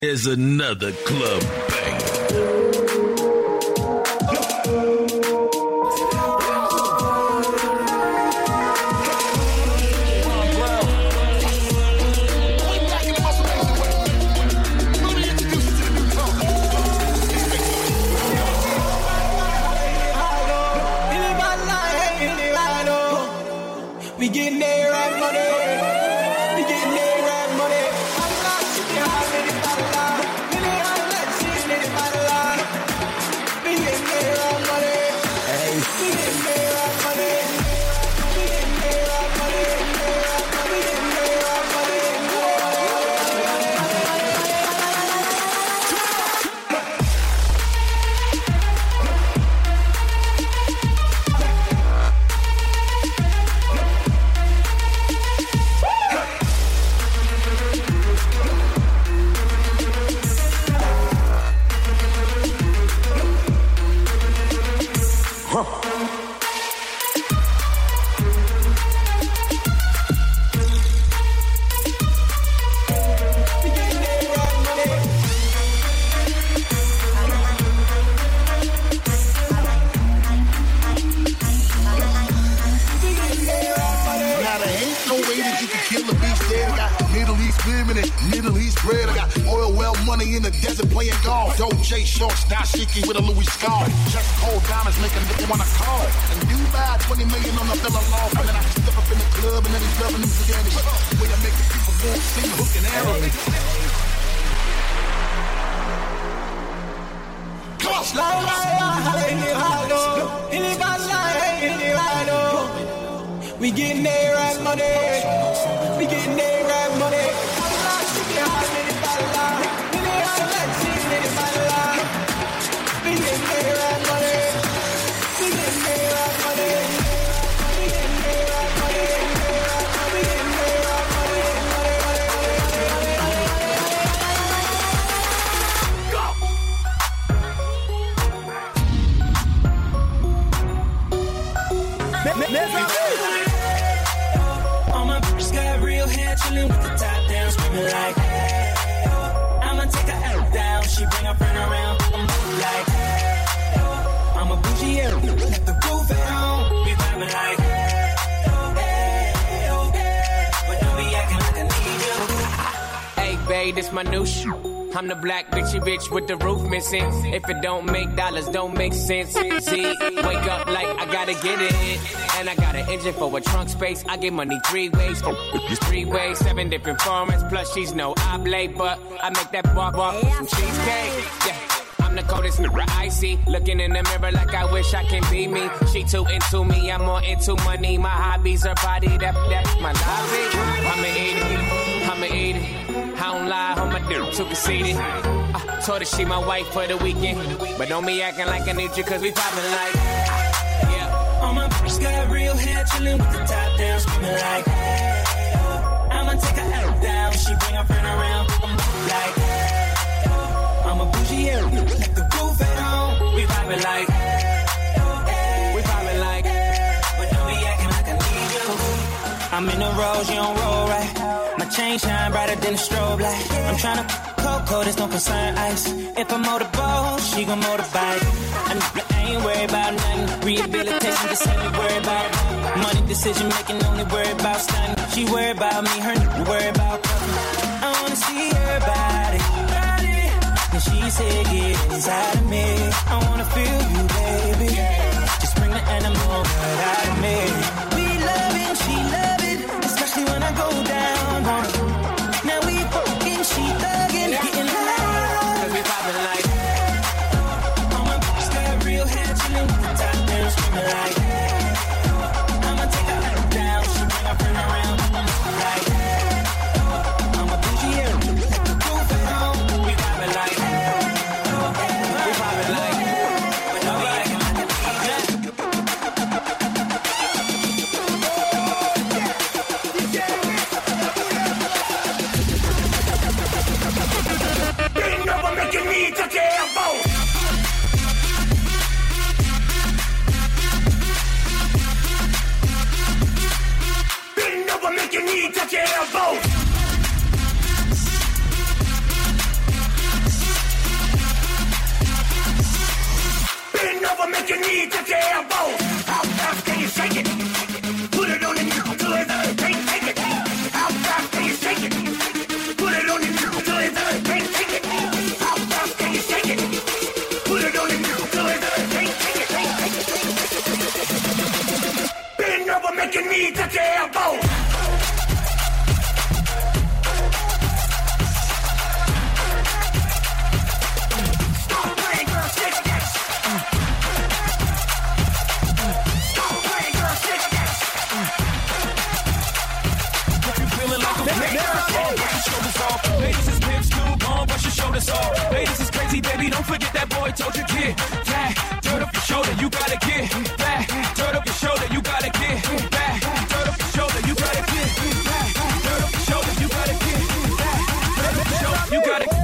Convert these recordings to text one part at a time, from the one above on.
There's another club banger. We getting there right money. We getting there right money. Allah, we getting there right money. Hey, we getting there right money. We getting there right money. We getting there right money. In the desert playing golf. Dolce shorts, dashiki with a Louis scarf. Just cold diamonds make a nigga wanna call. And Dubai, 20 million on the villa loft. And then I step up in the club and then he's loving these again. The way I make the people go sing hook and arrow. We getting there right money. We getting there right money. All my bitches got real hair, chillin' with the top down, screaming like, hey, I'ma take her out down, she bring her friend around, I'm like, hey, I'm a bougie, let the roof down, we vibing like, hey, but don't be acting like I need you. Hey, babe, this my new shoe. I'm the black bitchy bitch with the roof missing. If it don't make dollars, don't make sense. See, wake up like I gotta get it. And I got an engine for a trunk space. I get money 3 ways. 3 ways, 7 different formats. Plus she's no oblate, but I make that bar some cheesecake. Yeah. I'm the coldest nigga I see. Looking in the mirror like I wish I can be me. She too into me, I'm more into money. My hobbies are body, that's my lobby. I'ma eat it. I don't lie, on my dick, too conceited. Told her she my wife for the weekend. But don't be acting like I need you, cause we poppin' like, yeah. All my bitches got real hair, chillin' with the top down, screaming like, hey, I'ma take her out down, she bring her friend around, I'm like, hey, I'm a bougie, let the roof down, we vibin' like, we vibin' like, but don't be acting like I need you. I'm in the rose, you don't roll right. My chain shine brighter than a strobe light. I'm tryna cocoa, this don't concern ice. If I motorboat, she gon' motorbike. I ain't worried about nothing. Rehabilitation, just ain't me worried about money decision making, only worried about stunning. She worried about me, her nigga worried about fucking. I wanna see her body. And she said, get inside of me. I wanna feel you, baby. Just bring the animal right out of me. We love it, she love it, especially when I go down on her. Now we fucking, she thuggin', getting loud. Cause we poppin' like, all my bitches got real hair, chillin' with the top down, screamin' like, I'ma take her out down, she bring her friend around, like, I'm a bougie, let the roof down, we vibin' like, we poppin' like, but don't your elbow. How fast can you shake it? Put it on the nickel till it's can't take it. How fast can you shake it? Put it on the nickel till it's can't take it. How fast can you shake it? Put it on the nickel till it's can't take it. Bend over, make your knee touch your elbow. Ladies is crazy, baby, don't forget that boy told you, kid. Back, turn up your shoulder, you gotta get back. Turn up your shoulder, you gotta get back. Turn up your shoulder, you gotta get back. Turn up your shoulder, you gotta get back. Turn up your shoulder, you gotta get.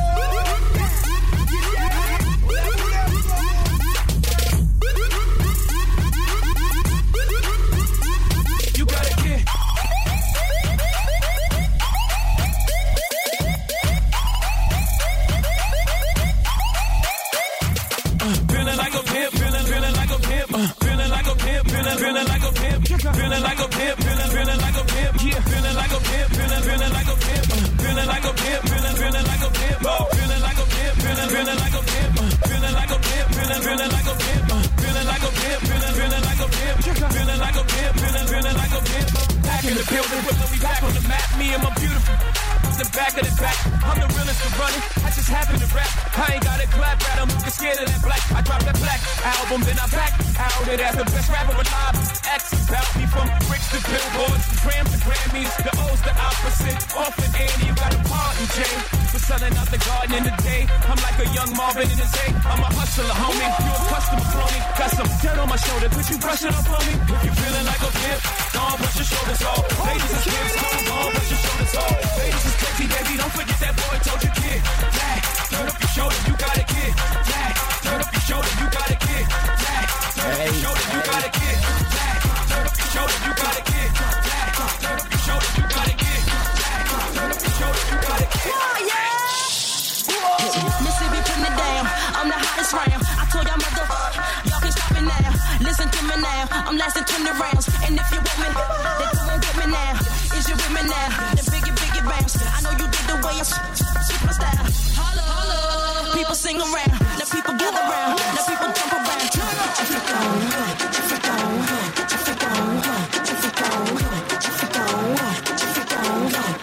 Feeling like a pimp, feeling like a pimp, yeah. Feeling like a pimp, feeling like a pimp, feeling like a pimp, feeling like a pimp, feeling like a pimp, feeling like a pimp, feeling like a pimp, feeling like a pimp, feeling like a pimp, feeling like a pimp, feeling like a pimp, feeling like a pimp. Back in the building, we back on the map. Me and my beautiful. The back of the back, I'm the realest to run it. I just happen to rap. I ain't gotta clap at them. Get scared of that black. I dropped that black album, then I back out it as the best rapper alive. X about me from bricks to billboards, grams to Grammys. The O's the opposite. Often Annie, you got a party, Jay. For selling out the garden in the day. I'm like a young Marvin in his day. I'm a hustler, homie. You a customer crony. Got some dirt on my shoulder. Could you brush it up on me? If you feeling like a pimp, don't brush your shoulders off. Ladies and kids, don't brush your shoulders off. Ladies and crazy, baby, don't forget that boy told you, kid. Back, turn up your shoulder, you gotta get. Back, turn up your shoulder, you gotta get. Back, turn up your shoulder, you gotta get. Back, turn up your shoulder, you gotta get. Back, turn up your shoulder, you gotta get. Back, turn up your shoulder, you gotta get. Oh yeah! Mississippi putting it down. I'm the hottest round. I told y'all y'all can stop it now. Listen to me now. I'm lasting 20 rounds. And if you with me, then come on get me now. Is you with me now? Then biggie bounce. I know you dig the way I switch my style. Holla, holla. People sing around. Now people gather around. Now people jump around. Get your freak on. Get your freak on. Get your freak on. Get your freak on. Get your freak on. Get your freak on. Get your freak on.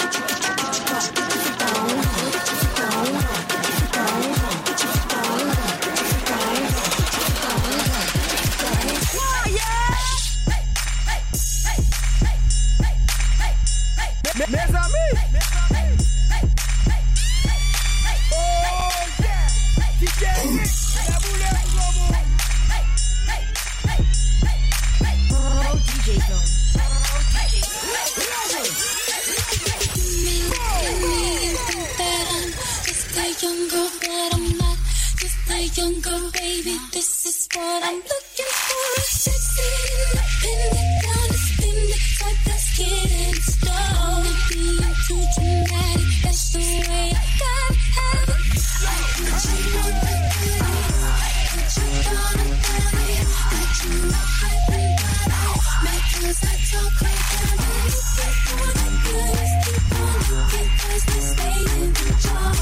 Mes amis. Oh yeah. DJ la boule promo. DJ Zone. Just a young girl, but I'm not just a young girl, baby. This is what I'm looking for. Sexy, independent, understanding, type that's getting started. Being too dramatic, that's the way I gotta have it. I put you on the body, put you on the body, got you all hype and body. Matters I talk like I'm looking for the goodest. Keep on looking 'cause they stay in the jar.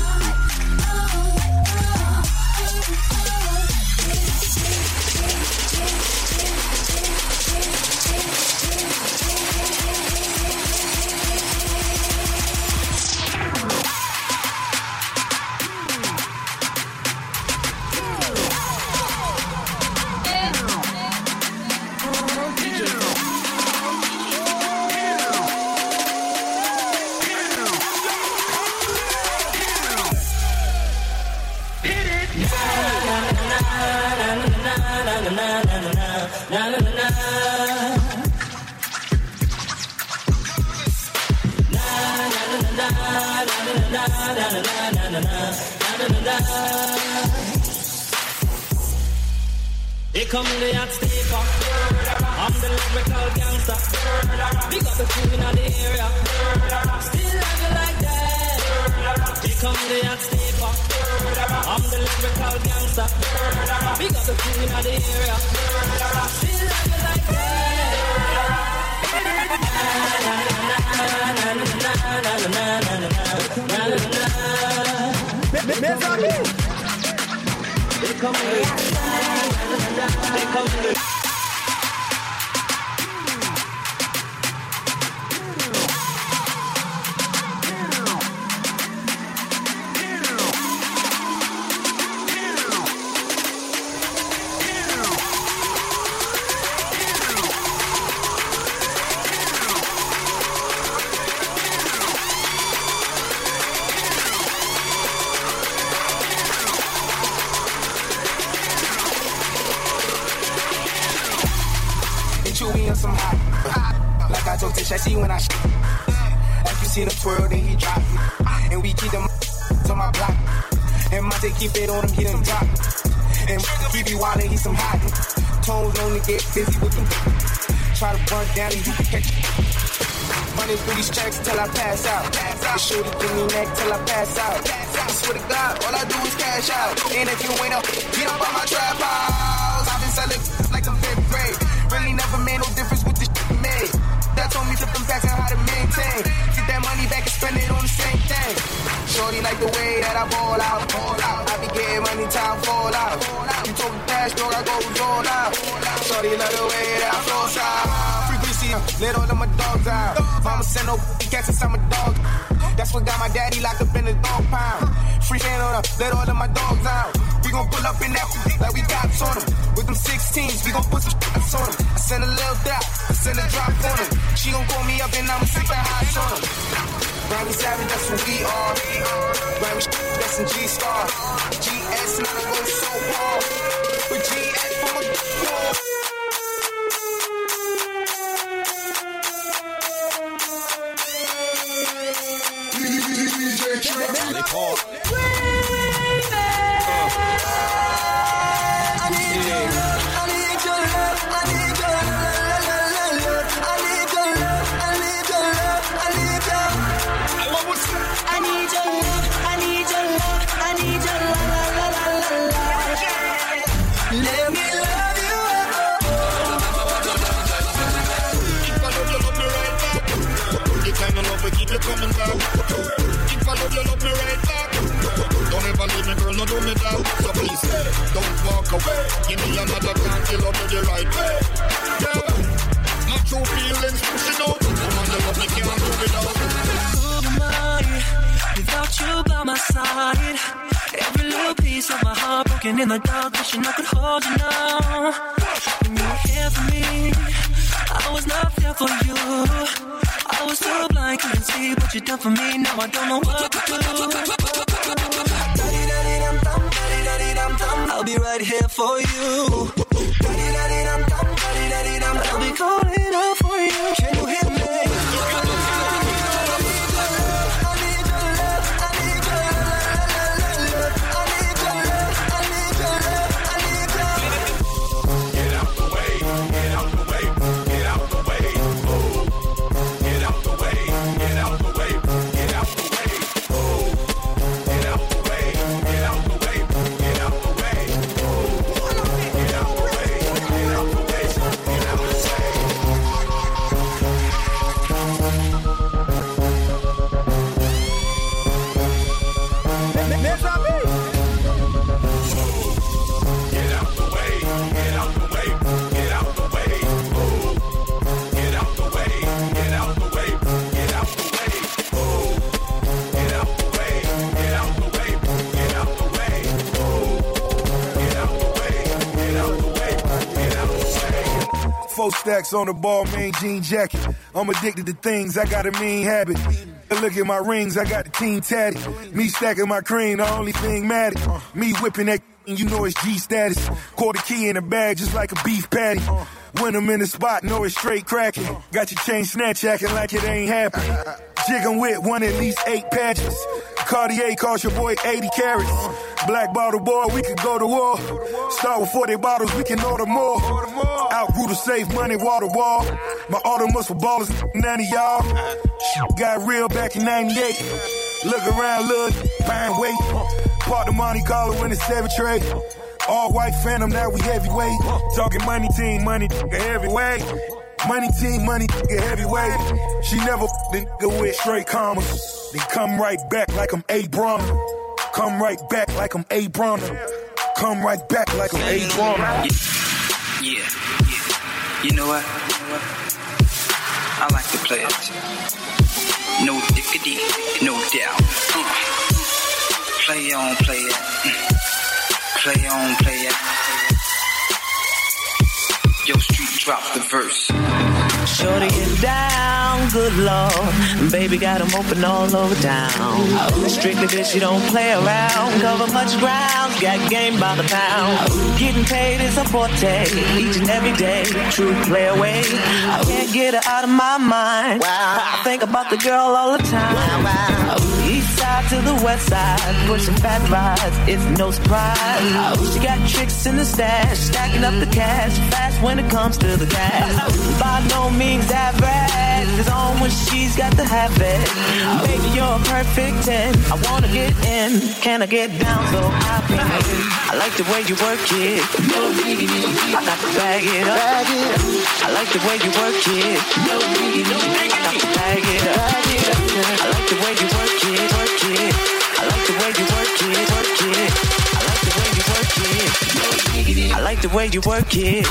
Here come the hot steeper. I'm the lyrical gangster. Big up the crew in the area. Still love you like that. Here come the hot steeper. I'm the lyrical gangster. Big up the cool in the area. Still love you like some hot. Like I told Tish, I see when I like you see the twirl, then he drop. And we keep them on my block. And Monte keep it on him, he done drop. And he be wildin', he some hot. Tones known to get busy with them. Try to run down and you can catch it. Running through these tracks till I pass out. The shorty give me neck till I pass out. I swear to God, all I do is cash out. And if you ain't up, get up on my trap house. I've been selling like I'm fifth grade. Really never made no difference with the shit we made. That told me flip them facts and how to maintain. Get that money back and spend it on the same thing. Shorty like the way that I ball out. I be getting money, time fall out. You told me cash, dog, I go all out. Shorty like the way that I flow out. Frequency, let all of my dogs out. Mama send no cats inside my dog. That's what got my daddy locked up in the dog pound. Free hand on her, let all of my dogs out. We gon' pull up in that like we got on them. With them 16s, we gon' put some shots on them. I send a little dot, I send a drop on them. She gon' call me up and I'ma stick that hot on them. Grammy Savage, that's who we are. Grammy that's in G-Star. GS, now I go so hard. With GS from a wall. Coming back. If I love you, love me right back. Don't ever leave me, girl, no do me that. So please, don't walk away. Give me another chance, you love me the right way. Yeah, my true feelings pushing out. Come on, you love me, can't do without. Who am I without you by my side? Every little piece of my heart broken in the dark, wishing I could hold you now. When you were here for me, I was not there for you. I was so blind, couldn't see what you done for me. Now I don't know what to do. I'll be right here for you. I'll be calling out for you. Can you hear me? Stacks on the ball, main jean jacket. I'm addicted to things, I got a mean habit. Look at my rings, I got the team tatted. Me stacking my cream, the only thing matted. Me whipping that, you know it's G status. Quarter key in the bag, just like a beef patty. When I'm in the spot, know it's straight cracking. Got your chain snatch acting like it ain't happening. Jigging with one at least 8 patches. Cartier cost your boy 80 carats. Black bottle boy, we could go to war. Start with 40 bottles, we can order more. Outgrew to save money, water wall. My Audemars for ballers, none of y'all. Got real back in 98. Look around, look, fine weight. Part the Monte Carlo in the 7 tray. All white phantom, now we heavyweight. Talking money team, money heavyweight. Money team, money heavyweight. She never nigga with straight commas. Then come right back like I'm Abram. Come right back like I'm Abram. Come right back like I'm Abram. Yeah. You know what? I like to play it. No dickity, no doubt. Play on, play it. Play on, play it. Yo, street drop the verse. Shorty it down, good lord. Baby got them open all over town. Strictly bitch, you don't play around. Cover much ground, got game by the pound. Getting paid is a forte, each and every day. True play away. I can't get her out of my mind. I think about the girl all the time. East side to the west side, pushing fat rides, it's no surprise. She got tricks in the stash, stacking up the cash, fast when it comes to the cash. By no means average, it's on when she's got to have it. Baby, you're a perfect 10, I wanna get in. Can I get down so I can? I like the way you work it. I got to bag it up. I like the way you work it. I got to bag it up. I like the way you work it. I like the way you work it. I like the way you work it.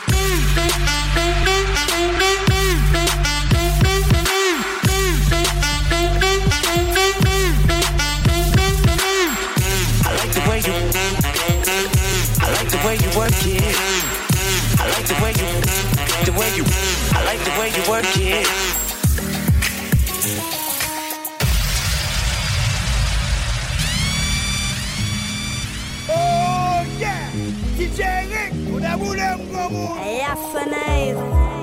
I like the way you work it. I like the way you work it. Oh yeah, DJ Rick, una bula un gomu. Yes, nice.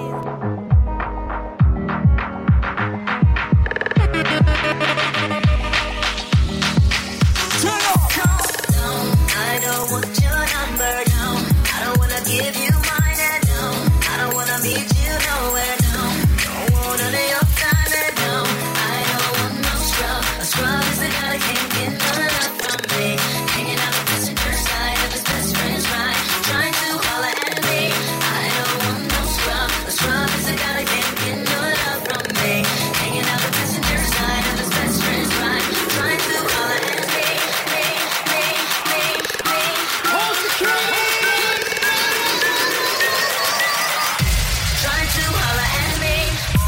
I don't want your number, no. I don't wanna give you mine, and no. I don't wanna meet you nowhere, no. Don't want none of your time, and no. I don't want no scrub. A scrub is the guy that can't get none enough from me. Hanging out the passenger side of his best friend's ride, trying to holler at me. I don't want no scrub. A scrub is the guy that can't get none enough from me. Hanging out the passenger side of his best friend's ride, trying to holler at me. Trying to holler at me.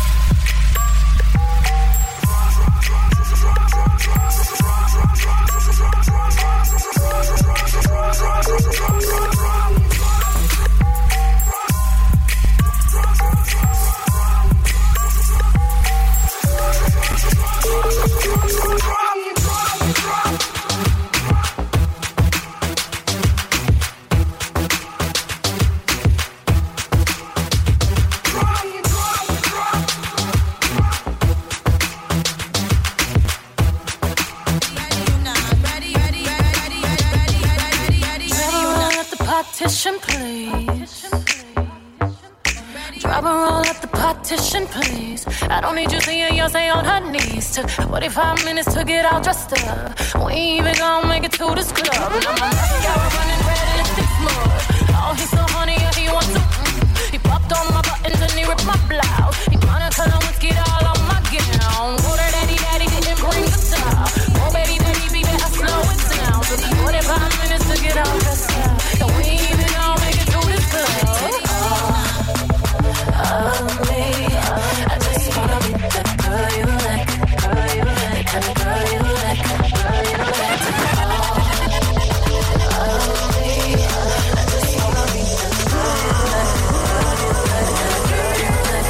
Partition, please. Drop a roll at the partition, please. I don't need you seeing Beyonce on her knees. Took 45 minutes to get all dressed up. We ain't even gonna make it to this club. Now my mascara running red and it's smooth. Oh, he's so honey, yeah, he wants to. He popped on my buttons and he ripped my blouse. He Monica Lewinsky all on my gown. Water daddy didn't bring the top. Oh, baby, be better slow it down. Took 45 minutes to get all dressed up. And we ain't even gonna make it to this club. Me, I just wanna be the girl you like, girl you like, kind of girl you like, girl you like. Me, I just wanna be the girl you like, girl you like, girl you like.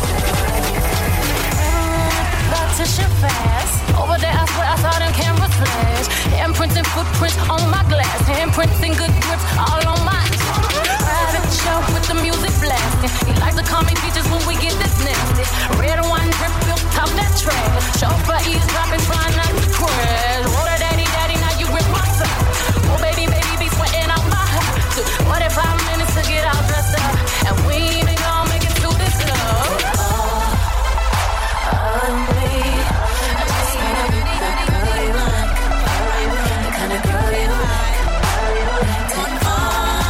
Partition fast. Over there, I swear I saw them cameras flash. Handprints and footprints on my glass. Handprints and good grips all on my private show with the music blasting. He likes to call me features when we get this nasty. Red wine drip built top that trash. Chauffeur eavesdropping, trying not to crash. Water daddy, now you rip my side. Oh baby, be sweating out my house. 45 minutes to get all dressed up, and we ain't even gonna make it through this love. Me, I just wanna be the girl you like, the kind of girl you like. Take all.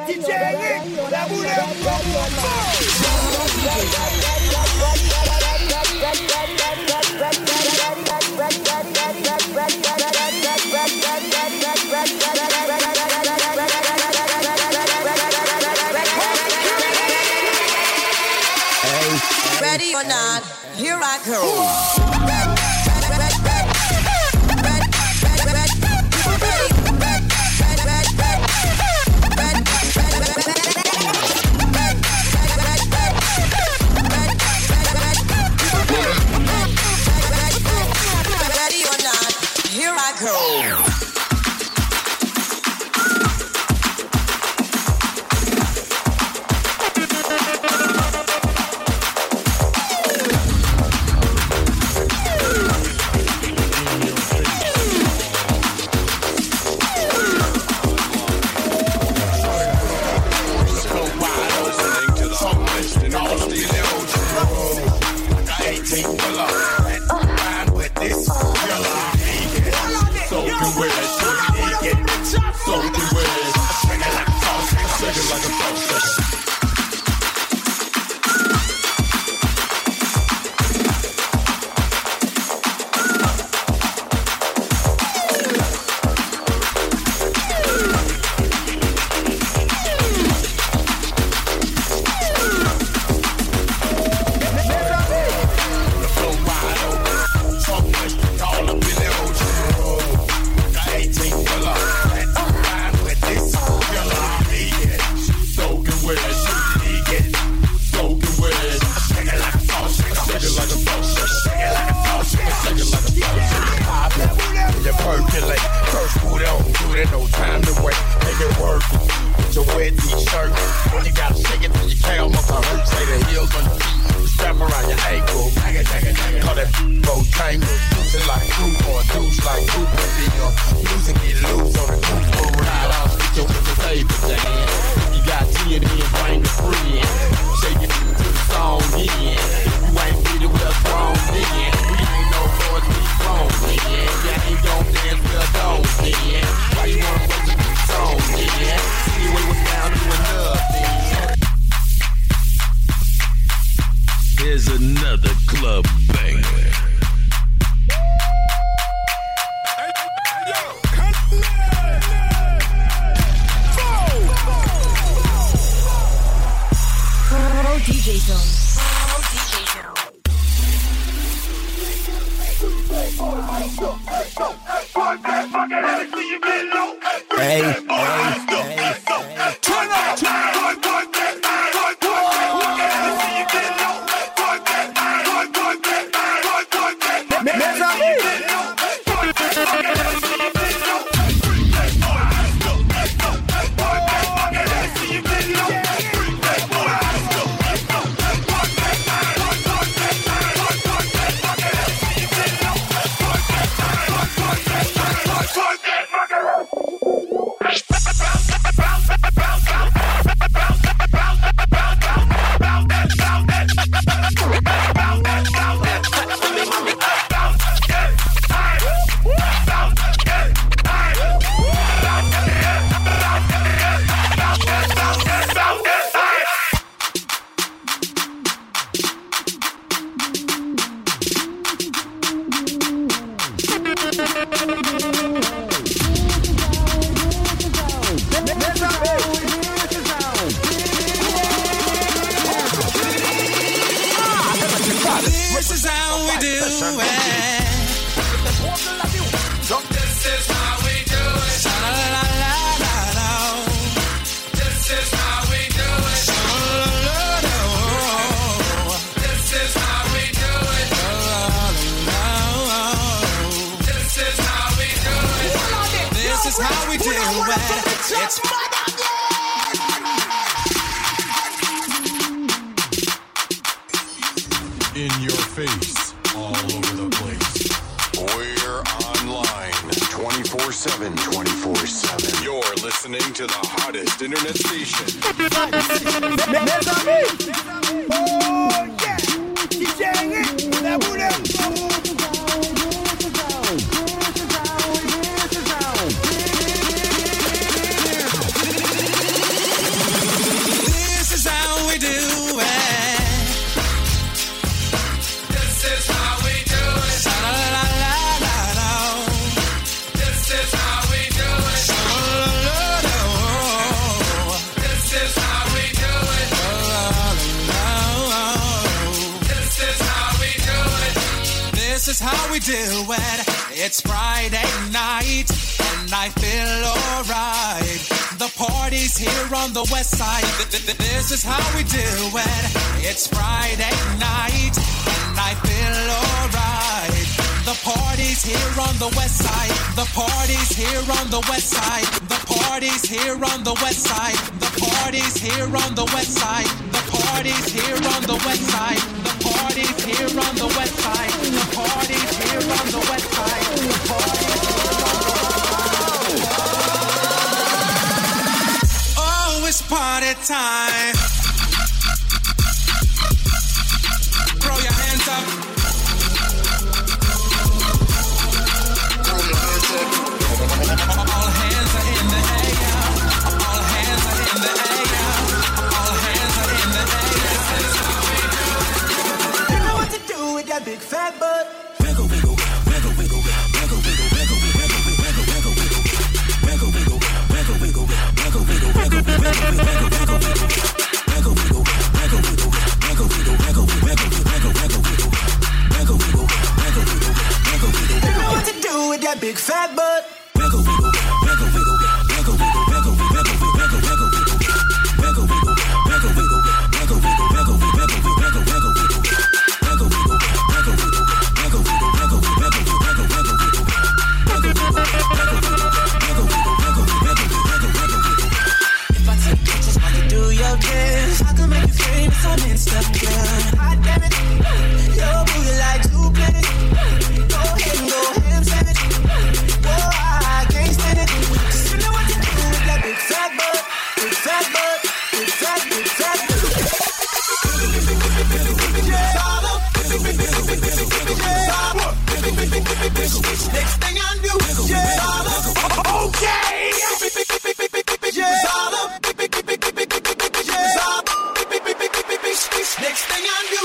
Ready or not, here I go. Ready or not, here I go. Here's another club banger. DJ Zone. Hey, turn up. This is how we do it. This is how we do it. La la la la la. This is how we do it. La la la la. This is how we do it. La la la. This is how we do it. This is how we do it. It's in your face, all over the place. We're online 24/7, 24/7. You're listening to the hottest internet station. Oh yeah, DJing la boule. This is how we do it. It's Friday night, and I feel alright. The party's here on the west side. This is how we do it. It's Friday night, and I feel alright. The party's here on the west side. The party's here on the west side. The party's here on the west side. The party's here on the west side. The party's here on the west side. The party's here on the west side. The party's here on the west side. The party's here on the west side. Oh, it's party time. Throw your hands up. All hands are in the air. All hands are in the air. All hands are in the air. You know what to do with that big fat butt. Wiggle, wiggle, wiggle, wiggle, wiggle, wiggle, wiggle, wiggle, wiggle, wiggle, wiggle, wiggle, wiggle, wiggle, wiggle, wiggle, wiggle, wiggle, You know what to do with that big fat butt. If I take pictures while you do your dance, I can make you famous on Instagram. God damn it, your booty like two planets. Go ahead and go ham sandwich. Oh, I can't stand it. 'Cause you know what to do with that big fat butt. Big fat butt. Big fat butt. Next thing I do, okay. Next thing I do,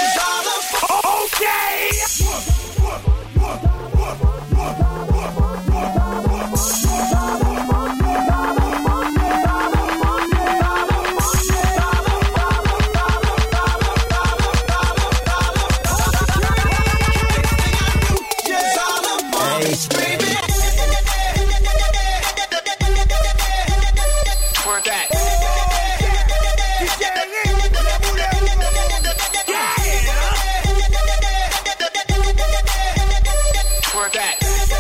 Twerk that. Twerk that.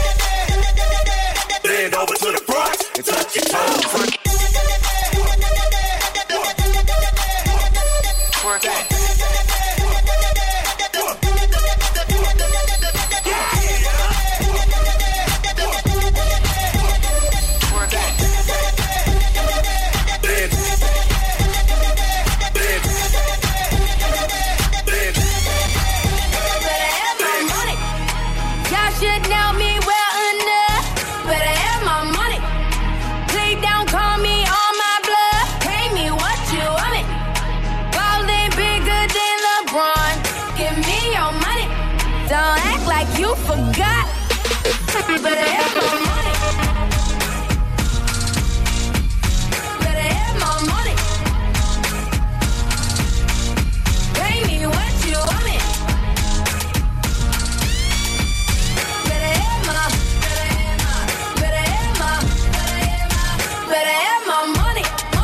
Bend over to the front and touch your toes. Twerk that. Don't act like you forgot. Better have my money. Better have my money. Pay me what you want me. Better have my money.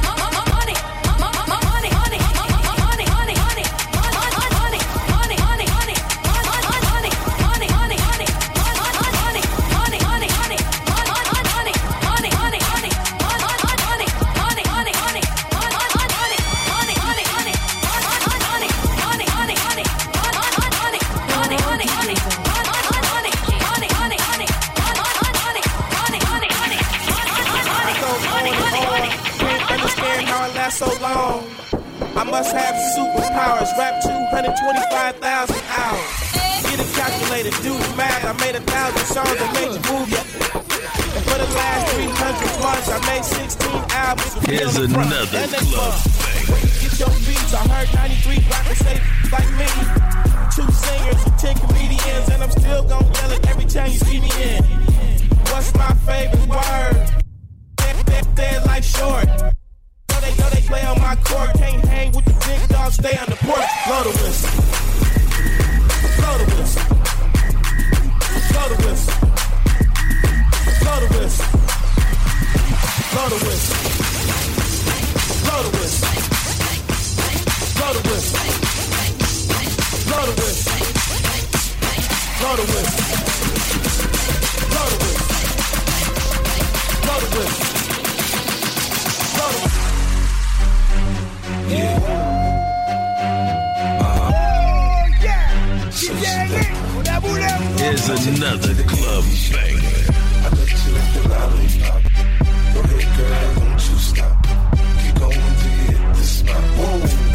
So long, I must have superpowers. Rap 225,000 hours. Get a calculator, do the math. I made 1,000 songs that made you move your. And for the last 300 months, I made 16 albums. Here's another club bang. Get your beats. I heard 93 rappers say like me. 2 singers and 10 comedians, and I'm still gonna yell it every time you see me in. What's my favorite word? Dead like short. Know they play on my court, can't hang with the big dogs, stay on the porch. Blow the whistle. Blow the whistle. is another club banger. I let you lick the lollipop. Go ahead, girl, don't you stop. Keep going till you hit the spot. Whoa.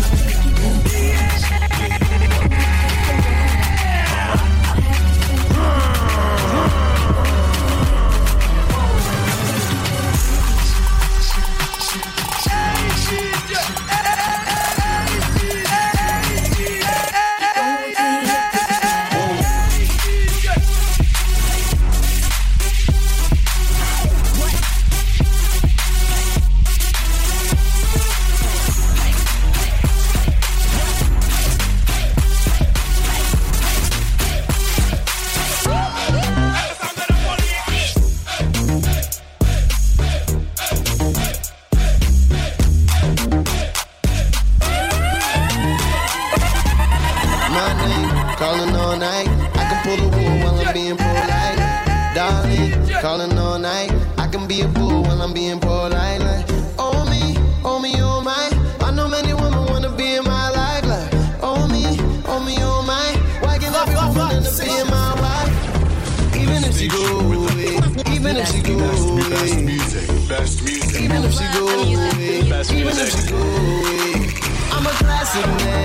Calling all night, I can be a fool when I'm being polite. Like, oh me, oh my. I know many women wanna be in my life. Like, oh me, oh my. Why can't every woman to be in my life? Even if she go away, even if she go away, best music, even if she go away, even if she go away, I'm a classic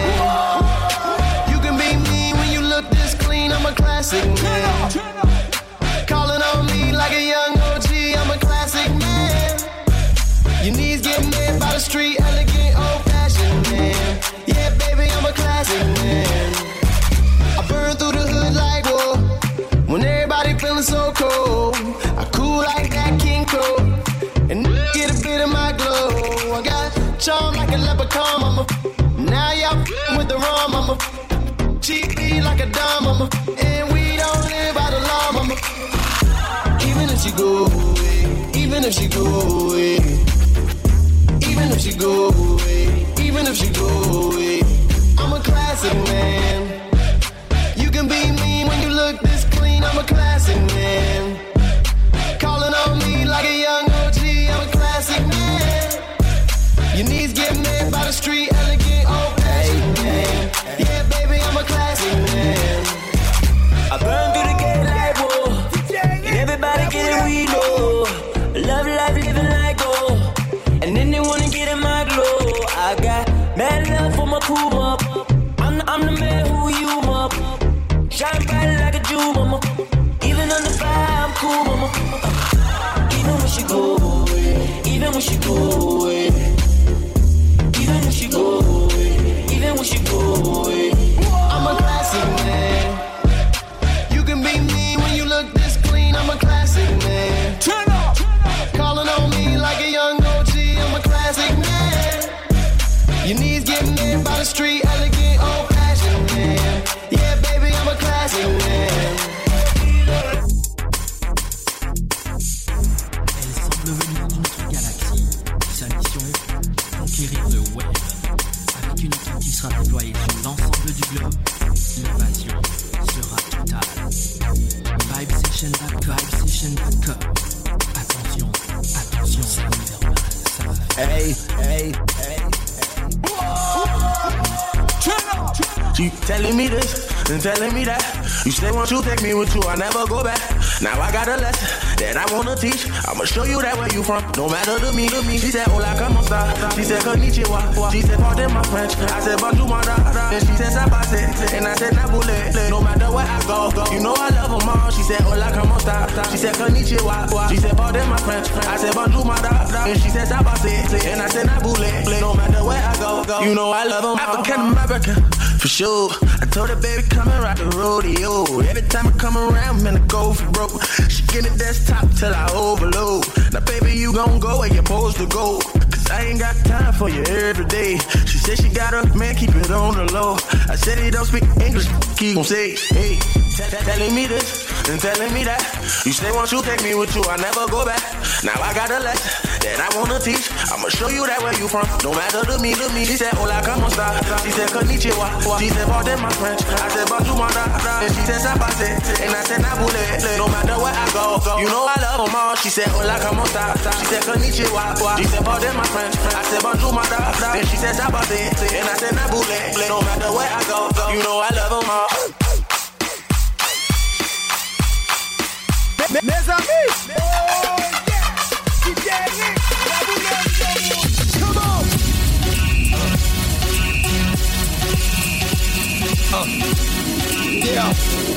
man. You can be mean when you look this clean. I'm a classic man. Calling on me like a young OG, I'm a classic man. Your knees get made by the street, elegant, old-fashioned man. Yeah, baby, I'm a classic man. I burn through the hood like whoa. When everybody feeling so cold, I cool like that King Cole. And get a bit of my glow. I got charm like a leprechaun, mama. Now y'all with the rum, mama. GP like a dime, mama. And we don't live by the law, mama. Even if she go away, even if she go away, even if she go away, even if she go away, I'm a classic man. You can be mean when you look this clean, I'm a classic man. Calling on me like a young OG, I'm a classic man. Your knees get made by the street, elegant, old-fashioned man. Yeah, baby, I'm a classic man. I burn through the gate like whoa. Everybody get it, we know. Love life, living like gold. And then they wanna get in my glow. I got mad love for my cool up. I'm the man who you up. Shine bright like a jewel, mama. Even on the fire, I'm cool, mama. Even when she go away, even when she go away, even when she go away, even when she go away, I'm a classic man. You can be mean when you look this clean, I'm a classic man. Turn up! Calling on me like a young OG, I'm a classic man. Your knees get made by the street, elegant, old-fashioned man. Yeah, baby, I'm a classic man. Elle semble venir d'une autre galaxie. Sa mission, conquérir le web. Avec une équipe qui sera déployée sur l'ensemble du globe, l'invasion sera totale. Vibesession.com. Attention, c'est l'univers, ça va faire. Hey. You telling me this and telling me that. You say once you take me with you, I never go back. Now I got a lesson that I wanna teach. I'ma show you that where you from, no matter to me. She said, hola, como esta? She said, konnichiwa. She said, pardon my French. I said, bonjour, madame. And she said, sabase. And I said, nabule. No matter where I go, you know I love them all. She said, hola, como esta? She said, konnichiwa. She said, pardon my French. I said, bonjour, madame. And she said, sabase. And I said, nabule. No matter where I go, you know I love them all. African American, for sure. I told her, baby, come and rock the rodeo. Every time I come around, man, I go for broke. She get the desktop till I overload. Now, baby, you gon' go where you're supposed to go. Cause I ain't got time for you every day. She said she got her man, keep it on the low. I said he don't speak English, he gon' say, hey. Telling me this and telling me that. You say once you take me with you, I never go back. Now I got a lesson that I wanna teach. I'ma show you that where you from, no matter to me. She said, hola, como esta? She said, konnichiwa. She said, pardon my French. I said, bonjour, madame. And she said, sabase. And I said, nabule. No matter where I go, you know I love them all. She said, hola, como esta? She said, konnichiwa. She said, pardon my French. I said, bonjour, madame. And she said, sabase. And I said, nabule. No matter where I go, you know I love them all. Mes amis! Oh yeah! DJ Nick! Come on! Yeah.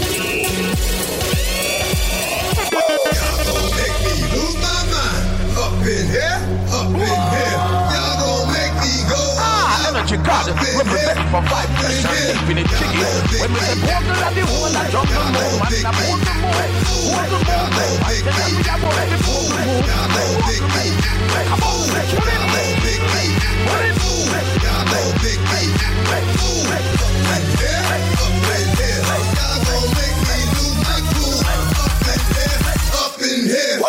Y'all gon' make me lose my mind. Up in here, up in here. Y'all gon' make me go. Energy God, represent for vibration, infinite chicken. When we say portal and the whole, I jump the moon, and I pull the moon, I tell them we are ready for the moon. Come on, let's put it. Put it. Y'all gon' make me move. Up in here, y'all gon' make me lose my cool. Up in here.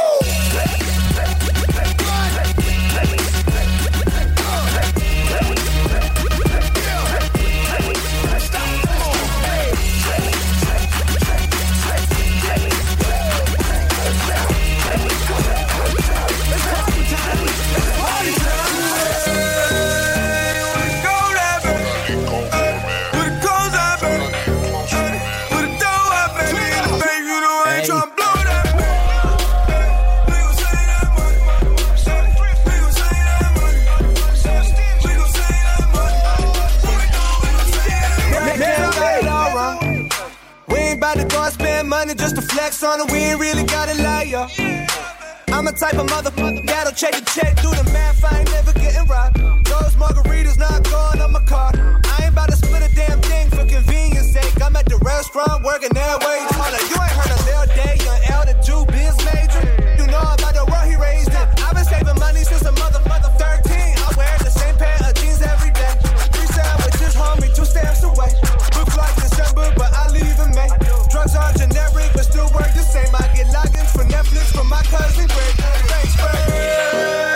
Just to flex on it, we ain't really gotta lie, yo. I'm a type of motherfucker that'll check a check, do the math, I ain't never getting robbed. Those margaritas not going on my car. I ain't about to split a damn thing for convenience sake. I'm at the restaurant working that way. Hold on, you ain't heard of Lil Day, young L, the Jew biz major. You know about the world he raised in. I've been saving money since a mother 13. I wear the same pair of jeans every day. 3 sandwiches, homie, 2 stamps away. Looks like December, but I leave in May. Drugs are generic, but still work the same. I get logins for Netflix from my cousin Greg. Thanks, Greg.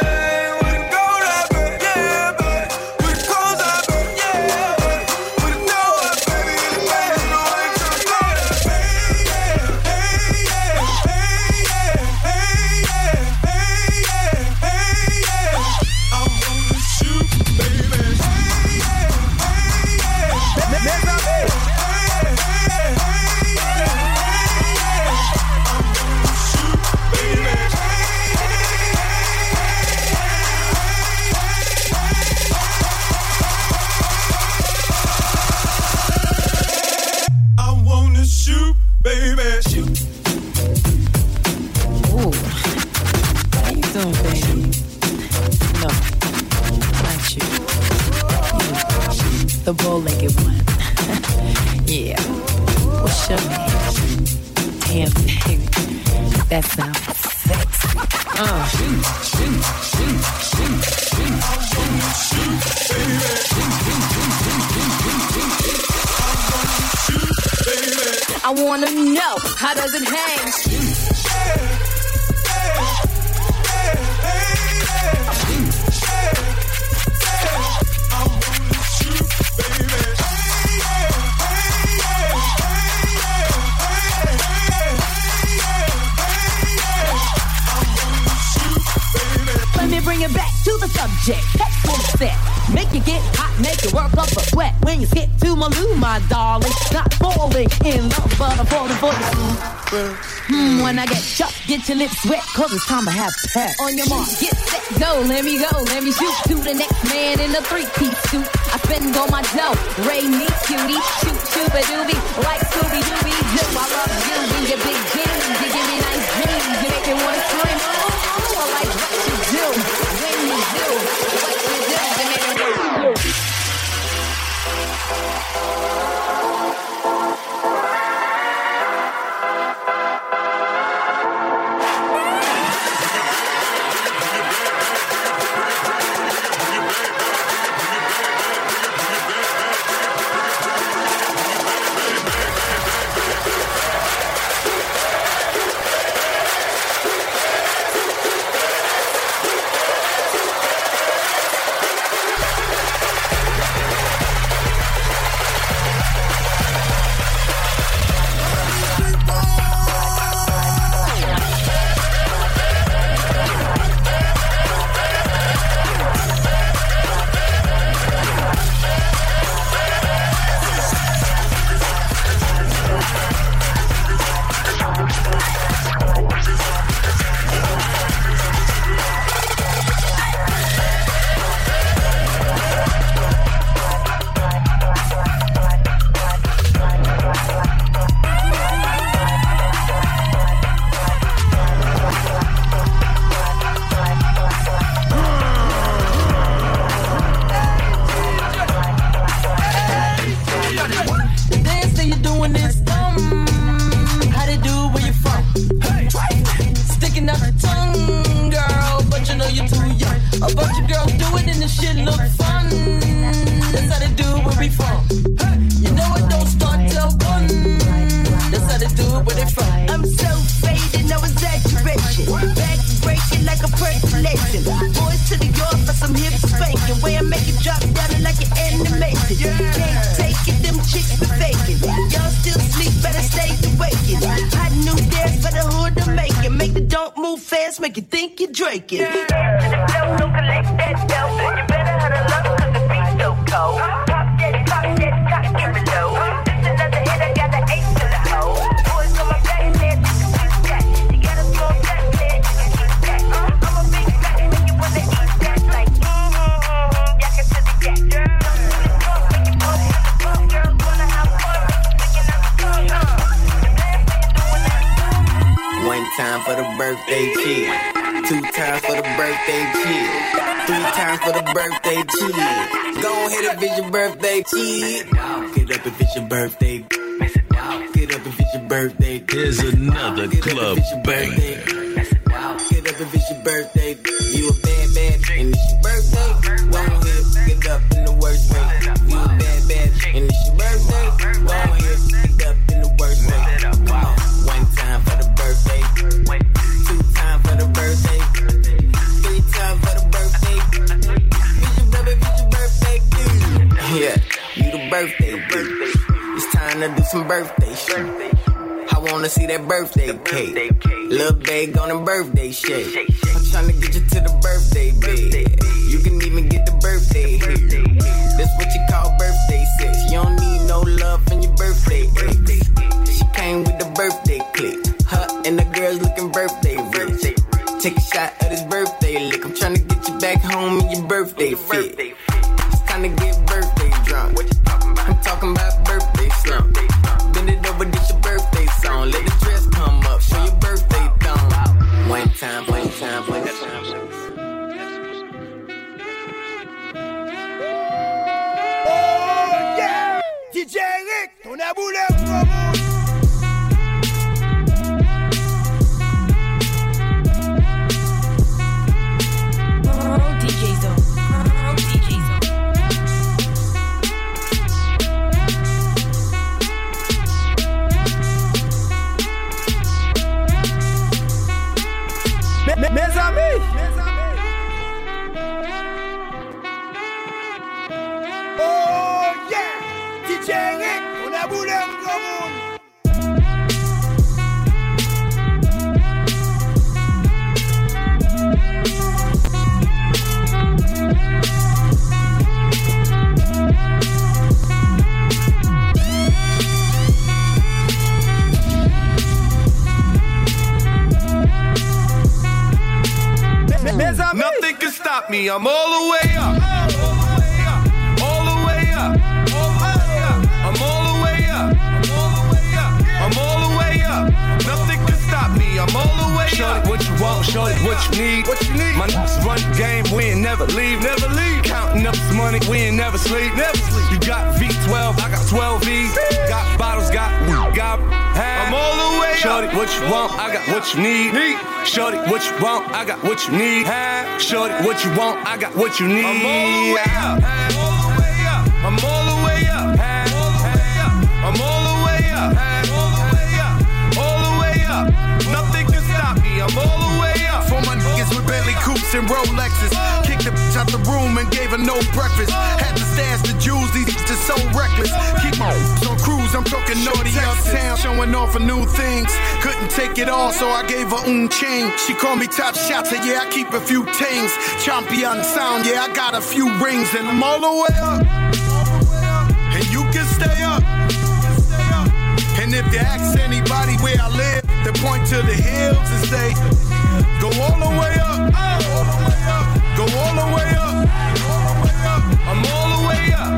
The bow-legged one. Yeah. What's your name? Damn, baby. That sounds sexy. I wanna know, how does it hang? Bring it back to the subject. Take full set. Make you get hot, make you work up a sweat. When you skip to my loo, my darling. Not falling in love, but I'm falling for the when I get shot, get your lips wet, cause it's time to have sex. On your mark, get set, go, let me shoot to the next man in a 3-piece suit. I spend all my dough, Ray me cutie, shoot, shooba-doobie, like Scooby-Dooby, do. I love you in your big jeans, you give me nice dreams, you make me wanna scream, oh, I like what you do, when you do, what you do, you make me wanna do. this shit look fun. That's how they do it where we from. You know it don't start till 1. That's how they do it where they from. I'm so faded, no exaggeration. Back breaking like a percolation. Boys to the yard for some hip spanking. Way I make it drop down like an animation. Can't take it, them chicks be faking. Y'all still sleep, better stay awakened. Hot new dance for the hood to make it. Make the don't move fast, make you think you're draking. Don't collect that dough. You better have a love cause the beat's so cold. Pop that, cock, give it low. This another hit, I got an 8 to the hole. Boys on my back, man, you can keep that. You got a small back, man, you can keep that. I'm a big fat, man, you wanna eat that. Like, yak it to the yak. Girls wanna have fun, picking up the tongue. One time for the birthday cheer, 2 times for the birthday cheer, 3 times for the birthday cheer. Go ahead if it's your birthday cheer. Get up if it's your birthday. Get up if it's your birthday. Here's another club banger. Get up if it's your birthday. You a bad and it's your birthday. Go ahead, get up in the worst way. You a bad and it's your birthday. Go ahead, get up in the worst way. Come on, 1 time for the birthday, 2 times for the birthday, 3 times for the birthday. It's your birthday, dude. Yeah, you the birthday dude. It's time to do some birthday shit. I wanna see that birthday cake. Lil' babe on a birthday shake. I'm tryna get you to the birthday bed. You can even get the birthday here. That's what you call birthday sex. You don't need no love in your birthday ex. She came with the birthday click. Her and the girls looking birthday rich. Take a shot of this birthday lick. I'm tryna get you back home in your birthday fit. It's time to get birthday drunk. I'm talking about birthday slump. Bend it over, this your birthday song. Let the dress come up, show your birthday thong. 1 time, 1 time, 1 time. Oh yeah, DJ Rick, ton aboulé promo. Mes amis, oh yeah, DJ Rick, on a boulé un gros monde. Nothing can stop me, I'm all the way up. All the way up. I'm all the way up. I'm all the way up. Nothing can stop me, I'm all the way up. Shorty, what you want, shorty, what you need. My niggas run the game, we ain't never leave. Counting up this money, we ain't never sleep. You got V12, I got 12 V's. Got bottles, got I'm all the way up. Shorty, what you want, I got what you need. Shorty, what you want, I got what you need. Shorty, what you want, I got what you need. I'm all the way up. I'm all the way up. I'm all the way up. All the way up. Nothing can stop me, I'm all the way up. For my niggas with Bentley coupes and Rolexes. Kicked the bitch out the room and gave her no breakfast. Had to stash the jewels, these just so reckless. Keep my on cruise, I'm talking naughty uptown. Showing off for new things. Couldn't take it all, so I gave her chain. She called me top shotter, yeah, I keep a few tings. Champion sound, yeah, I got a few rings. And I'm all the way up. And you can stay up. And if you ask anybody where I live, they point to the hills and say, go all the way up. Go all the way up. I'm all the way up.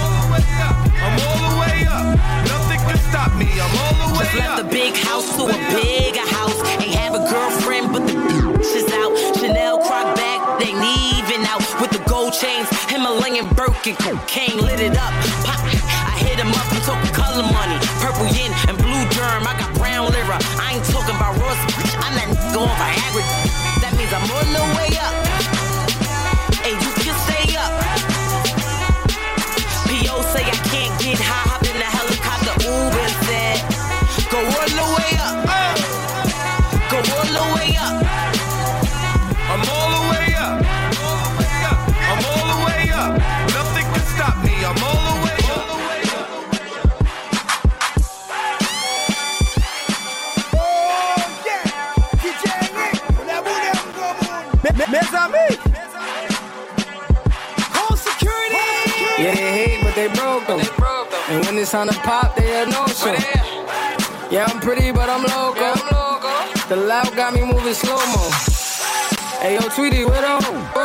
I'm all the way up. Nothing can stop me, I'm all the way up. Just left the big house to a bigger house. Ain't have a girlfriend, but the bitch is out. Chanel croc bag, they leaving out. With the gold chains, Himalayan Birkin, cocaine lit it up. Pop, I hit him up, I'm talking color money. Purple yin and blue germ, I got brown lira. I ain't talking about Ross, I'm not going Viagra. That means I'm on the way up. And you can stay up. amis. Home security. Yeah, they hate, but they broke them. And when it's on the pop, they had no show. Yeah, I'm pretty, but I'm loco. The loud got me moving slow-mo. Ayo, Tweety, with up?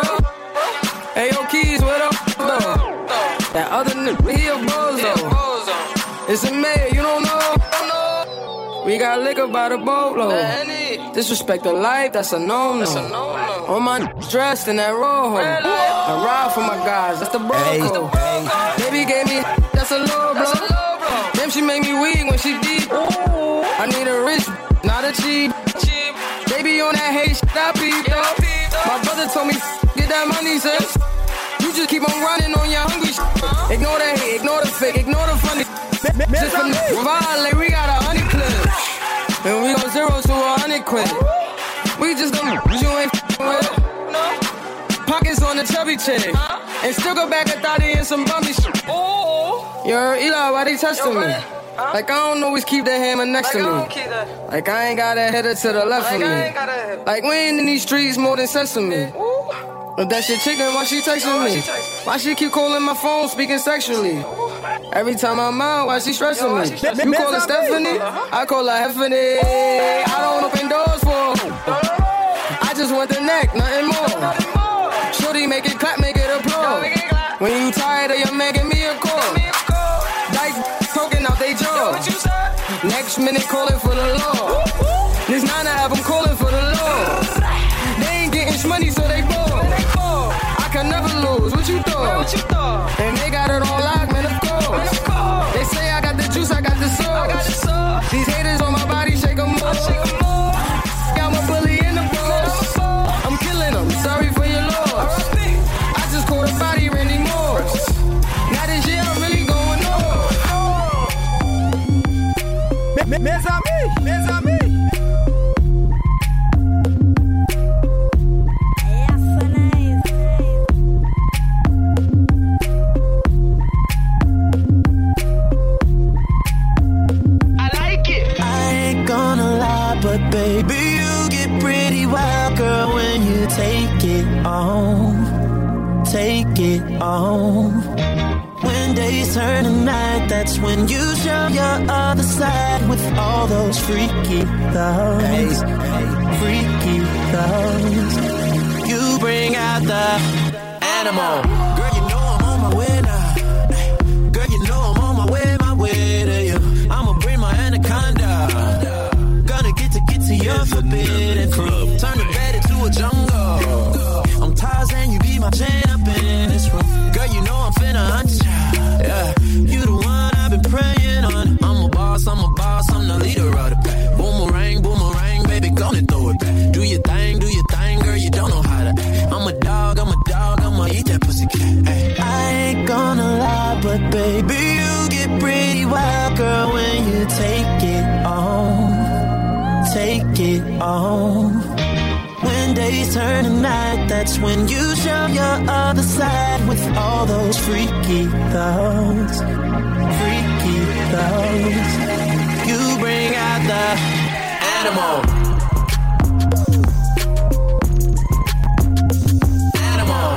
Ayo, Keys, with up? That other nigga, he a bozo. It's a mayor, you don't know? We got liquor by the boatload. Disrespect the life, that's a no-no. On my dressed in that rojo. I ride for my guys, that's the bro. Baby gave me, that's a low blow. Damn, she made me weak when she deep. I need a rich, not a cheap. Baby on that hate shit, I peep though. My brother told me, get that money, sis. You just keep on running on your hungry shit. Ignore the hate, ignore the fake, ignore the funny. Just for violate, we got 100 clips. And we go 0 to 100 quid. We just gon' you ain't with. Pockets on the chubby chick. And still go back and thought he in some bummy shit. Yo, Eli, why they testing me? Like I don't always keep that hammer next to me. Like I ain't got a header to the left of me. Like we ain't in these streets more than sesame. But that shit chicken, why she texting me? Why she keep calling my phone, speaking sexually? Every time I'm out, why she stressing me? You call her Stephanie? I call her Heffany. I don't open doors for her. I just want the neck, nothing more. Shorty, make it clap, make it applaud. When you tired of your man, give me a call. Dice poking out they jaw. Next minute calling for the law. This 9 to have them calling for the law. They ain't getting money, so they bored. I can never lose, what you thought? And they got it on lock, man, of course. They say I got the juice, I got the sauce. These haters on my body, shake them more. I'm a bully in the post. I'm killing them, sorry for your loss. I just caught a body, Randy Morris. Now this year I'm really going on. Mes amis. But baby, you get pretty wild, girl, when you take it on. Take it on. When days turn to night, that's when you show your other side with all those freaky thoughts. Freaky thoughts. You bring out the animal. Girl, you know I'm on my way now. Girl, you know I'm on my way to you. I'ma bring my anaconda. To your forbidden fruit. Turn the bed into a jungle. I'm Tarzan, you be my Jane up in this room. Girl, you know I'm finna hunt ya. Yeah, you the one I've been praying on. I'm a boss, I'm the leader of the pack. Boomerang, baby, gonna throw it back. Do your thing, girl, you don't know how to act. I'm a dog, I'ma eat that pussy cat. Ay. I ain't gonna lie, but baby, you get pretty wild, girl, when you take it on. Take it on. When days turn to night, that's when you show your other side with all those freaky thoughts. Freaky thoughts. You bring out the animal. Animal.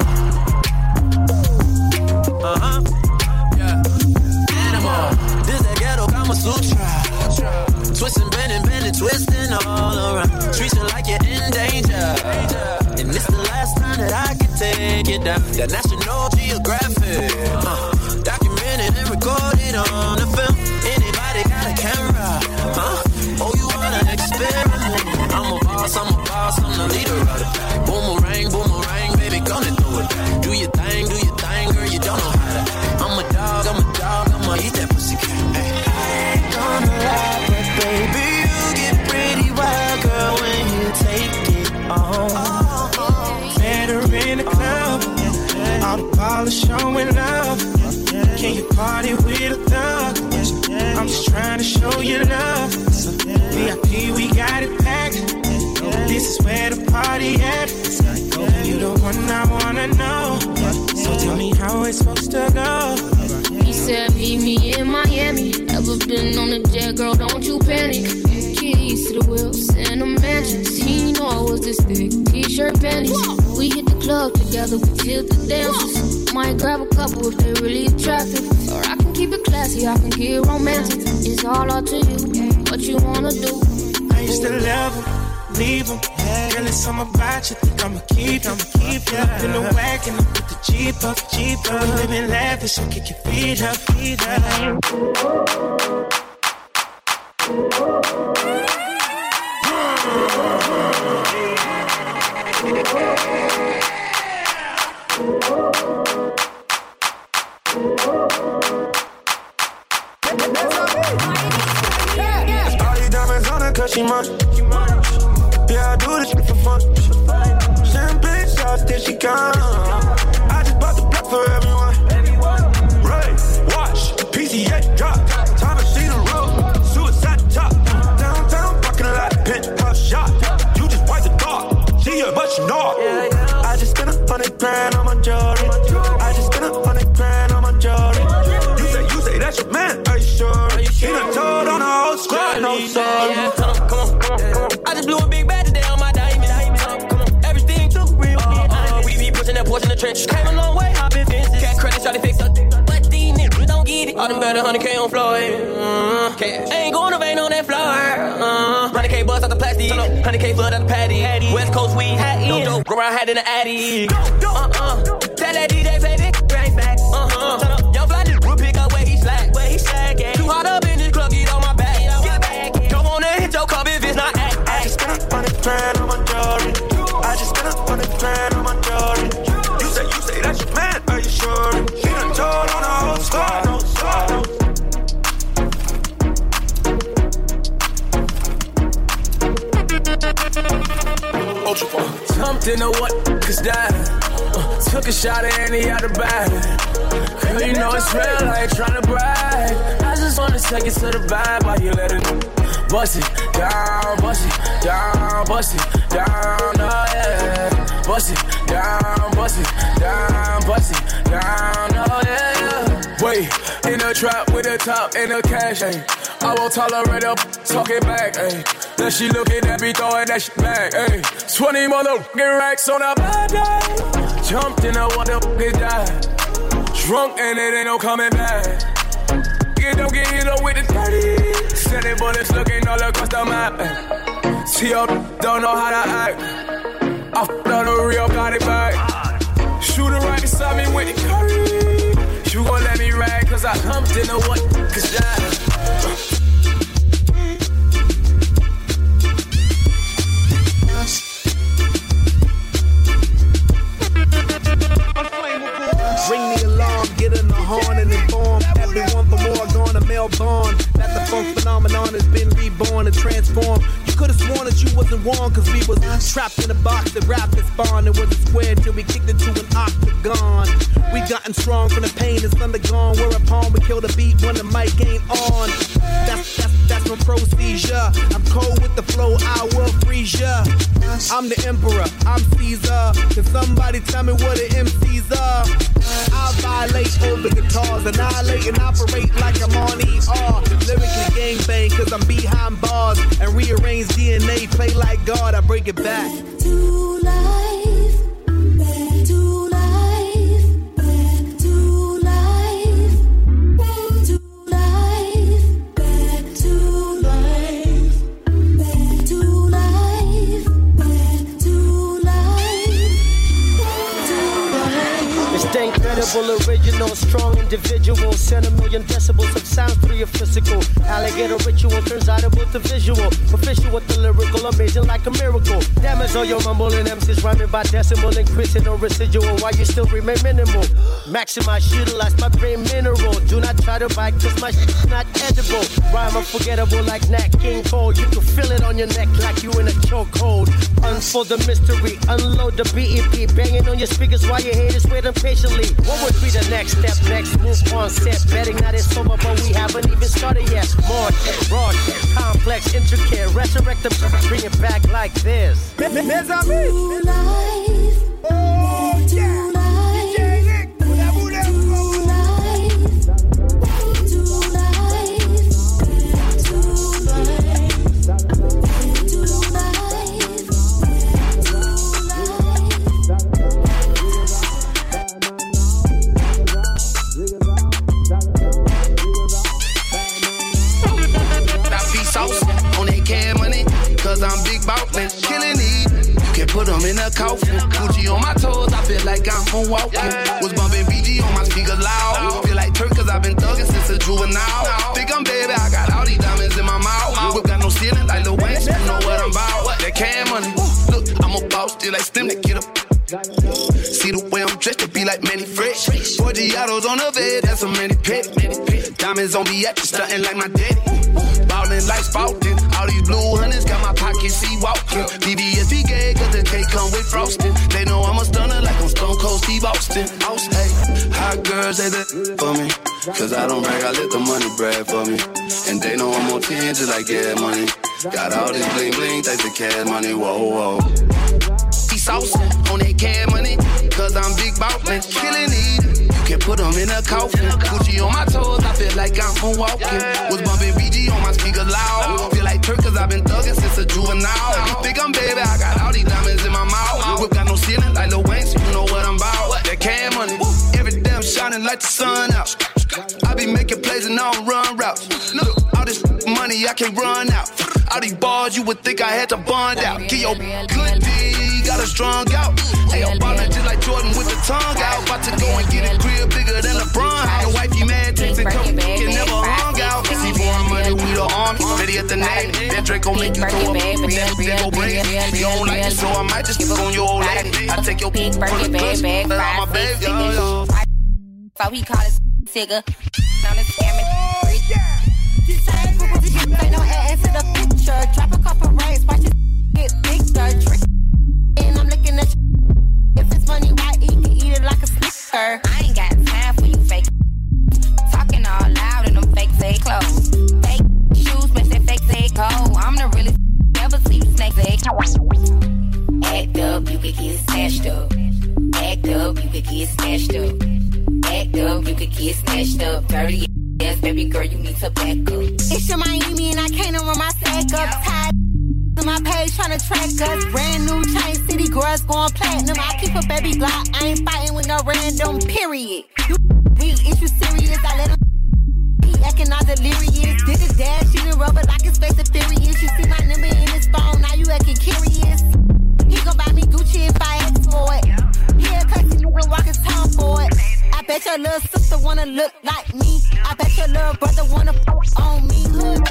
Yeah. Animal. This that ghetto Kama Sutra. Twisting, bending, twisting all around. Treat you like you're in danger. And it's the last time that I can take it down. That National Geographic. Documented and recorded on the film. Anybody got a camera? Oh, you wanna experiment? I'm a boss, I'm the leader of the pack. Boomerang, baby, gonna throw it back. Do your thing, girl, you don't know how to. I'm a dog, I'ma eat that pussy cat. I ain't gonna lie, but baby, you get pretty wild, girl, when you take it on. Better in the club, all the ballers showing love. Can you party with a thug? I'm just trying to show you love. VIP, we got it packed. This is where the party at. You the one I wanna know. So tell me how it's supposed to go. He said meet me in Miami. Ever been on a jet, girl, don't you panic. Keys to the wheels and the mansions. He know I was this thick, t-shirt panties. We hit the so we killed the dancers. Might grab a couple if they really attractive. Or I can keep it classy, I can get romantic. It's all up to you, what you wanna do. I used to love them, leave them. Girl, it's something about you, think I'ma keep ya. Up in the wagon, I put the Jeep up. We living lavish, so kick your feet up. All these diamonds on her 'cause she munch. Yeah, I do this shit for fun. Champagne shots till she gone. I just bought the block for everyone. Ray, watch, PCA drop. Time to see the road. Suicide top. Downtown parking lot, penthouse shot. You just wipe the dog. See her, but she not. I just spent $100 grand on my jewelry. I just spent $100 grand on my jewelry. You say that's your man? Are you sure? He done told on the whole squad. No sorry. Come on. I just blew a big bag today on my diamond. Come on, everything too real. We be pushing that porch in the trench. Came a long way, I've been fences. Cat credit, try to fix up. But these niggas don't get it. All them better 100K on Floyd. Cash. Ain't going to vein on that floor. 100K bust out the plastic. 100K flood out the patty. West Coast weed. No dope. Go around hat in the Addy. Tell that DJ play this right back. Young fly nigga will pick up where he slack. Too hot up in this club, get on my back. Get back. Don't wanna hit your cup if it's not act. I just spent $100 grand on my jewelry. I just spent $100 grand on my jewelry. You say that's your man? Are you sure? He done told on the whole squad. No sorry. Jumped in the what? Cause that took a shot at Annie out the bag. Girl, you know it's real, I ain't tryna brag. I just wanna take it to the vibe while you let it bust it down, bust it down, bust it down, oh yeah. Bust it down, bust it down, bust it down, oh yeah. Wait, in the trap with the top and the cash, ayy. I won't tolerate her talking back, ayy. Then she looking at me throwing that shit back, ayy. 20 motherfucking racks on a bad day. Jumped in a what the fuck is that? Drunk and it ain't no coming back. You don't get hit up with the 30. Sending bullets looking all across the map, ayy. See y'all don't know how to act. I f***ed on the real, got it back. Shooter right beside me with the curry. You gon' let me rag cause I jumped in the what? Cause that ring the alarm, get in the horn and inform everyone for more gonna Melbourne. That the funk phenomenon has been reborn and transformed. You could have sworn that you wasn't warm cause we was trapped in a box that wrapped and spawned. It was a square till we kicked into an octagon. We gotten strong from the pain that's undergone. Whereupon we kill the beat when the mic ain't on. That's my procedure. I'm cold with the flow, I will freeze ya. I'm the emperor, I'm Caesar. Can somebody tell me what the MCs are? I violate over guitars, annihilate and operate like I'm on ER. Lyrically gangbang cause I'm behind bars and rearrange DNA, play like God, I break it back. To life, back to life, back to life, back to life, back to life, back to life, back to life. It's the incredible, original, strong individual. Send a million decibels of sound through your physical. Alligator ritual turns audible to visual. Official with the lyrical, amazing like a miracle. Damage all your mumbling MCs rhyming by decimal, increasing no residual while you still remain minimal. Maximize, utilize my brain mineral. Do not try to bite cause my shit's not edible. Rhyme unforgettable like Nat King Cole. You can feel it on your neck like you in a chokehold. Unfold the mystery, unload the BEP. Banging on your speakers while your haters waiting patiently. What would be the next step? Next move on set. Betting that it's over but we haven't even started yet. More raw, complex, intricate. Resurrect them, bring it back like this. To life, oh, yeah. in a coffin. Gucci on my toes, I feel like I'm moonwalking. Was bumping BG on my speakers loud. Feel like Turk cause I've been thugging since a juvenile. Think I'm baby, I got all these diamonds in my mouth. Whip got no ceiling like Lil Wayne, you know what I'm about. That can money, look, I'm a boss, still like STEM to get up. See the way I'm dressed, to be like Manny Fresh. Forgiatos on the bed, that's a Manny Pet. Diamonds on me, acting stunting like my daddy. Ballin' like Spalding. All these blue hunters got my pockets, see walking. BBSP gay, cause the cake come with frosting. They know I'm a stunner like I'm Stone Cold Steve Austin. Hey, hot girls, they that for me. Cause I don't brag, I let the money brag for me. And they know I'm on 10 just like gas money. Got all this bling bling, thanks to cash money, whoa, whoa. Saucin' on that cash money, cause I'm big ballin', killin' it. You can put them in a coffin. Gucci on my toes, I feel like I'm moonwalking. Was bumping BG on my speakers loud. Feel like Turk cause I've been thugging since a juvenile. Think I'm baby, I got all these diamonds in my mouth. Whip got no ceiling like Lil Wayne, so you know what I'm about. That cash money, every day I'm shining like the sun out. I be making plays and I don't run routes. Look, all this money I can't run out. All these bars you would think I had to bond out. Get your good D, got a strong out. Hey, I'm ballin' just like Jordan with the tongue out. About to go and get a crib bigger than LeBron. Your wifey mad, texting, come can never hung out. See foreign money, we the army, ready at the name. That Draco make you throw up, then go bring it. You don't like it, so I might just on your old lady. I take your pink first push, but I'm a baby. So he call it Tigger. On the scamming. Ain't no ass to the picture. Drop a couple racks, watch it get bigger. Trick. And I'm looking at you. If it's money, why eat? Can eat it like a snicker. I ain't got time for you fake. Talking all loud in them fake say clothes. Fake shoes, match that fake say cold. I'm the realest. Never see you snake say act up, you could get snatched up. Act up, you could get snatched up. Act up, you could get snatched up. Dirty ass, baby girl, you need to back up. It's your Miami and I can't run my sack up. Tied to my page trying to track us. Brand new chain city girls going platinum. I keep a baby Glock, I ain't fighting with no random, period. We issue serious, I let him he acting all delirious. Did the dash, she done rubber like his face is furious. You see my number in his phone, now you acting curious. He gon' buy me Gucci if I ask for it. Yeah, cause you gon' walk his tongue for it. I bet your little sister wanna look like me. I bet your little brother wanna fuck on me.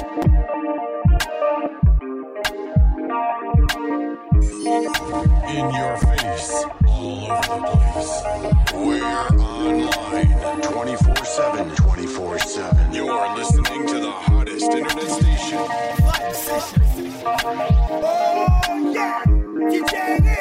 In your face, all over the place. We're online 24/7, 24/7. You're listening to the hottest internet station. Oh yeah, DJ Nick,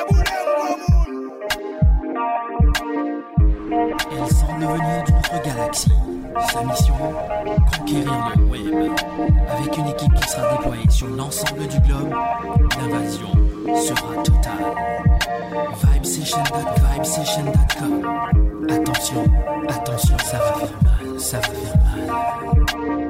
Elle semble venir d'une autre galaxie. Sa mission, conquérir le web. Avec une équipe qui sera déployée sur l'ensemble du globe, l'invasion sera totale. Vibesession.com. Attention, attention, ça va faire mal, ça va faire mal.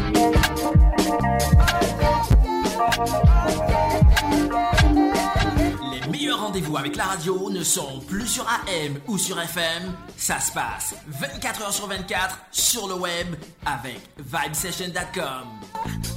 Les meilleurs rendez-vous avec la radio ne sont plus sur AM ou sur FM. Ça se passe 24h sur 24 sur le web avec Vibesession.com.